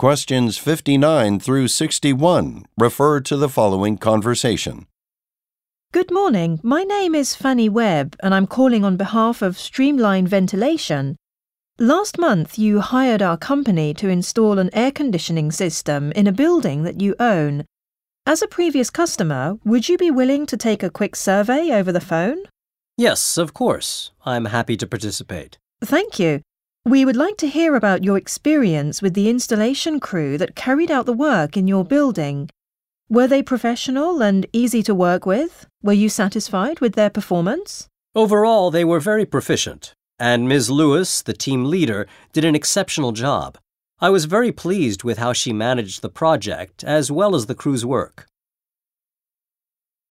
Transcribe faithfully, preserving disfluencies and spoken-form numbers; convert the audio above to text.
Questions fifty-nine through sixty-one refer to the following conversation. Good morning. My name is Fanny Webb and I'm calling on behalf of Streamline Ventilation. Last month you hired our company to install an air conditioning system in a building that you own. As a previous customer, would you be willing to take a quick survey over the phone? Yes, of course. I'm happy to participate. Thank you. We would like to hear about your experience with the installation crew that carried out the work in your building. Were they professional and easy to work with? Were you satisfied with their performance? Overall, they were very proficient, and Miz Lewis, the team leader, did an exceptional job. I was very pleased with how she managed the project as well as the crew's work.